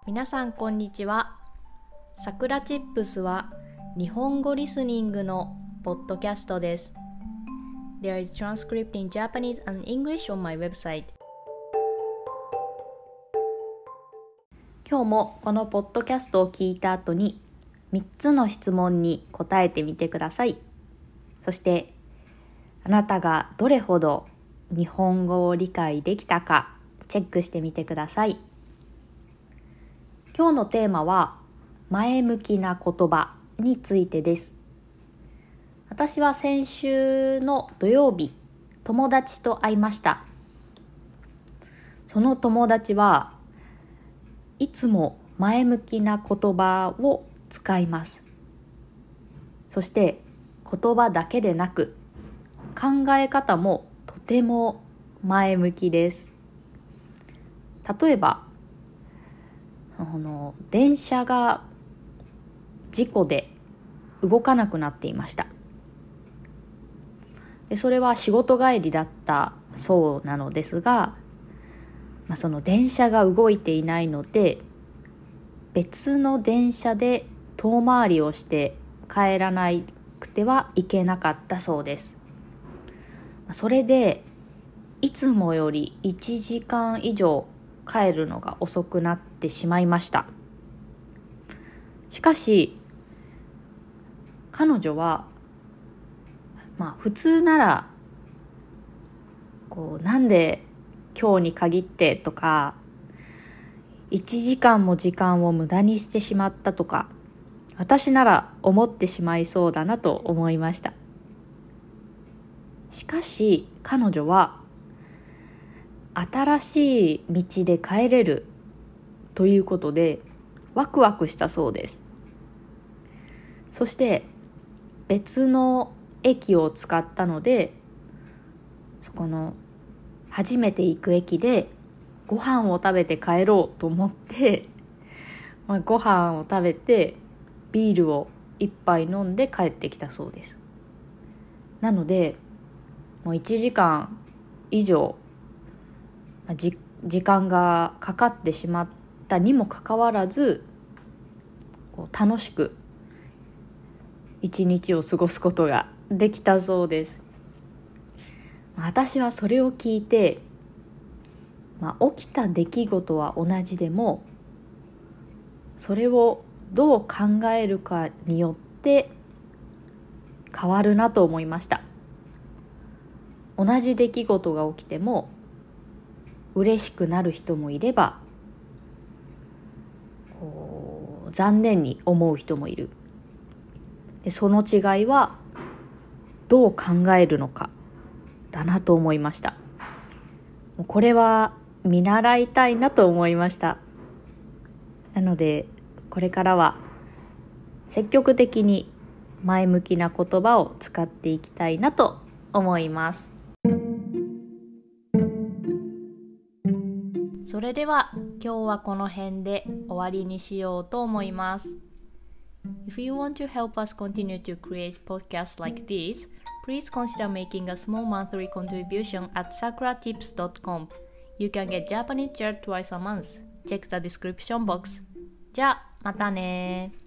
皆さんこんにちは。さくらチップスは日本語リスニングのポッドキャストです。There is transcript in Japanese and English on my website. 今日もこのポッドキャストを聞いた後に3つの質問に答えてみてください。そしてあなたがどれほど日本語を理解できたかチェックしてみてください。今日のテーマは前向きな言葉についてです。私は先週の土曜日、友達と会いました。その友達はいつも前向きな言葉を使います。そして言葉だけでなく考え方もとても前向きです。例えば電車が事故で動かなくなっていました。でそれは仕事帰りだったそうなのですが、その電車が動いていないので別の電車で遠回りをして帰らなくてはいけなかったそうです。それでいつもより1時間以上帰るのが遅くなってしまいました。しかし彼女は普通ならなんで今日に限ってとか1時間も時間を無駄にしてしまったとか私なら思ってしまいそうだなと思いました。しかし彼女は新しい道で帰れるということでワクワクしたそうです。そして別の駅を使ったのでそこの初めて行く駅でご飯を食べて帰ろうと思ってご飯を食べてビールを一杯飲んで帰ってきたそうです。なのでもう1時間以上時間がかかってしまったにもかかわらず楽しく一日を過ごすことができたそうです。私はそれを聞いて、起きた出来事は同じでもそれをどう考えるかによって変わるなと思いました。同じ出来事が起きても嬉しくなる人もいれば残念に思う人もいる。でその違いはどう考えるのかだなと思いました。これは見習いたいなと思いました。なのでこれからは積極的に前向きな言葉を使っていきたいなと思います。それでは今日はこの辺で終わりにしようと思います。If you want to help us continue to create podcasts like this, please consider making a small monthly contribution at sakuratips.com. You can get Japanese chair twice a month. Check the description box. じゃあまたね。